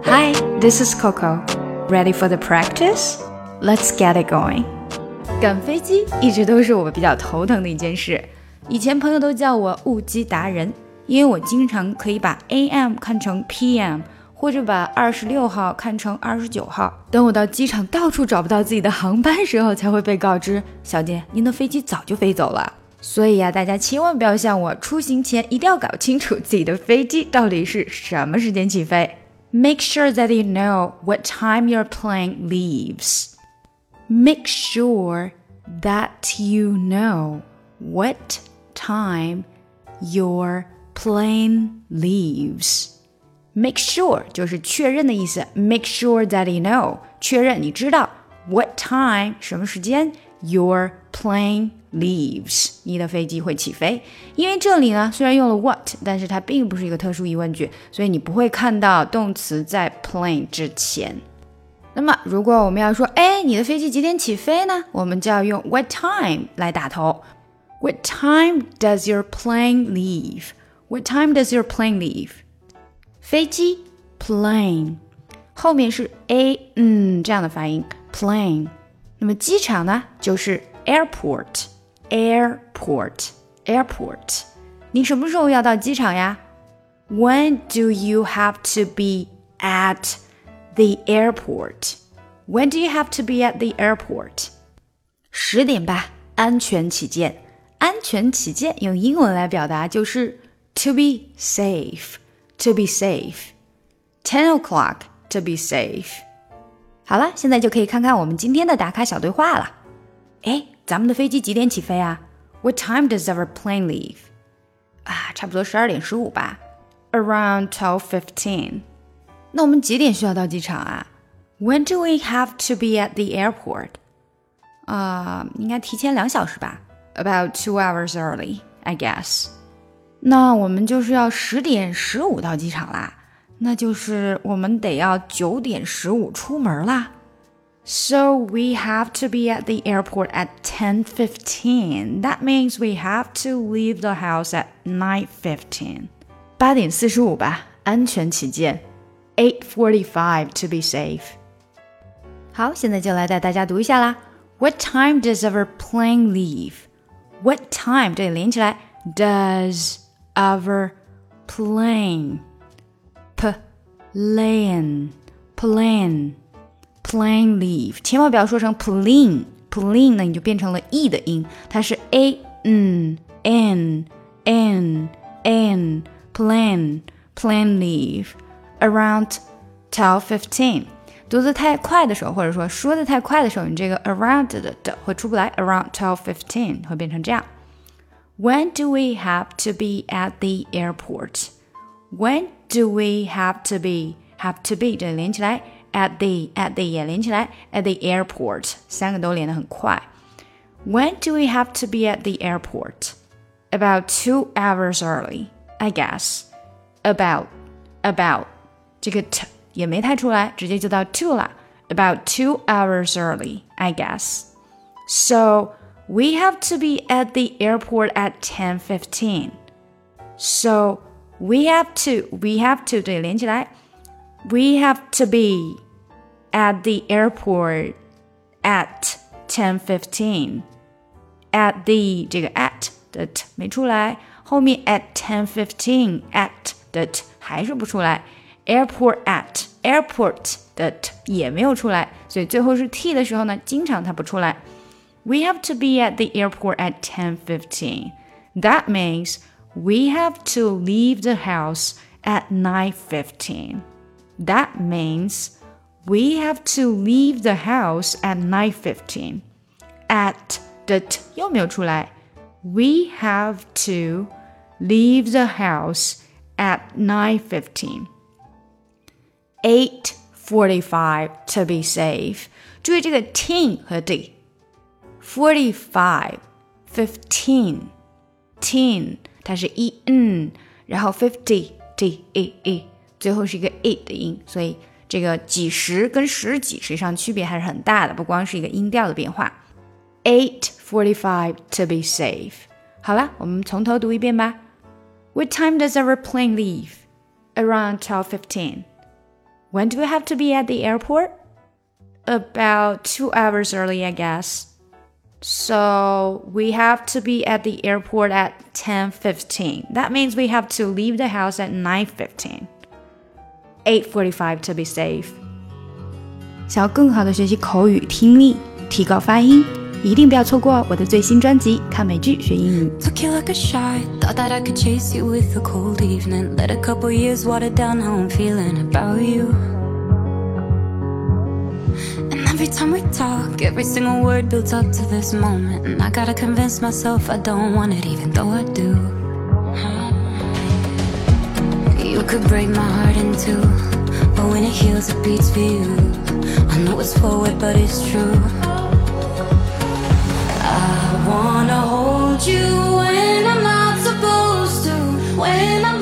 Hi, this is Coco. Ready for the practice? Let's get it going. 赶飞机一直都是我比较头疼的一件事。以前朋友都叫我误机达人，因为我经常可以把 AM 看成 PM， 或者把26号看成29号。等我到机场到处找不到自己的航班时候，才会被告知，小姐，您的飞机早就飞走了。所以大家千万不要像我，出行前一定要搞清楚自己的飞机到底是什么时间起飞。Make sure that you know what time your plane leaves. Make sure that you know what time your plane leaves. Make sure 就是确认的意思。Make sure that you know 确认你知道 what time 什么时间 your plane leaves 你的飞机会起飞。因为这里呢虽然用了 what， 但是它并不是一个特殊疑问句，所以你不会看到动词在 plane 之前。那么如果我们要说你的飞机几点起飞呢，我们就要用 what time 来打头。 What time does your plane leave? What time does your plane leave? 飞机 plane 后面是 a 这样的发音 plane。 那么机场呢就是 airport。 你什么时候要到机场呀？ When do you have to be at the airport? When do you have to be at the airport? 10点吧，安全起见。安全起见用英文来表达就是 to be safe. To be safe. 10 o'clock to be safe. 好了，现在就可以看看我们今天的打卡小对话了。咱们的飞机几点起飞啊？ What time does our plane leave? 差不多12点15吧。Around 12:15. 那我们几点需要到机场啊？ When do we have to be at the airport? 应该提前2小时吧。About 2 hours early, I guess. 那我们就是要10点15到机场啦，那就是我们得要9点15出门啦。So we have to be at the airport at 10:15. That means we have to leave the house at 9:15. 8点45吧，安全起见。8:45 to be safe. 好，现在就来带大家读一下啦。What time does our plane leave? What time 这里连起来 does our plane plane leave 千万不要说成 plane 呢你就变成了 e 的音，它是 a n plane leave around 12:15。 读得太快的时候，或者说说得太快的时候，你这个 around 的会出不来， around 12:15 会变成这样。When do we have to be at the airport? When do we have to be 这里连起来 at the 也连起来 at the airport 三个都连得很快。When do we have to be at the airport? About 2 hours early, I guess. About 这个 t 也没太出来，直接就到 to 了。About 2 hours early, I guess. So we have to be at the airport at 10:15. So we have to 这里连起来 We have to be at the airport at 10:15. At the 这个 at 的 t 没出来，后面 at 10:15 at 的 t 还是不出来， airport at airport 的 t 也没有出来，所以最后是 t 的时候呢，经常它不出来。We have to be at the airport at 10:15. That means we have to leave the house at 9:15. That means we have to leave the house at 9:15. At 的 t 又没有出来。We have to leave the house at 9:15. 8:45 to be safe. 注意这个 ten 和 d。45 15 10它是 e 然后50 d e 最后是一个 e 的音，所以这个几十跟十几实际上区别还是很大的，不光是一个音调的变化。8:45 to be safe. 好了，我们从头读一遍吧。What time does our plane leave? Around 12:15. When do we have to be at the airport? About 2 hours early, I guess. So we have to be at the airport at 10:15. That means we have to leave the house at 9:15. 8:45 to be safe. 想要更好的学习口语听力，提高发音，一定不要错过我的最新专辑《看美剧学英语》。 Took you like a shot, thought that I could chase you with a cold evening. Let a couple years water down how I'm feeling about you. And every time we talk, every single word builds up to this moment. And I gotta convince myself I don't want it, even though I do. You could break my heart in two, but when it heals, it beats for you. I know it's forward, but it's true. I wanna hold you when I'm not supposed to, when I'm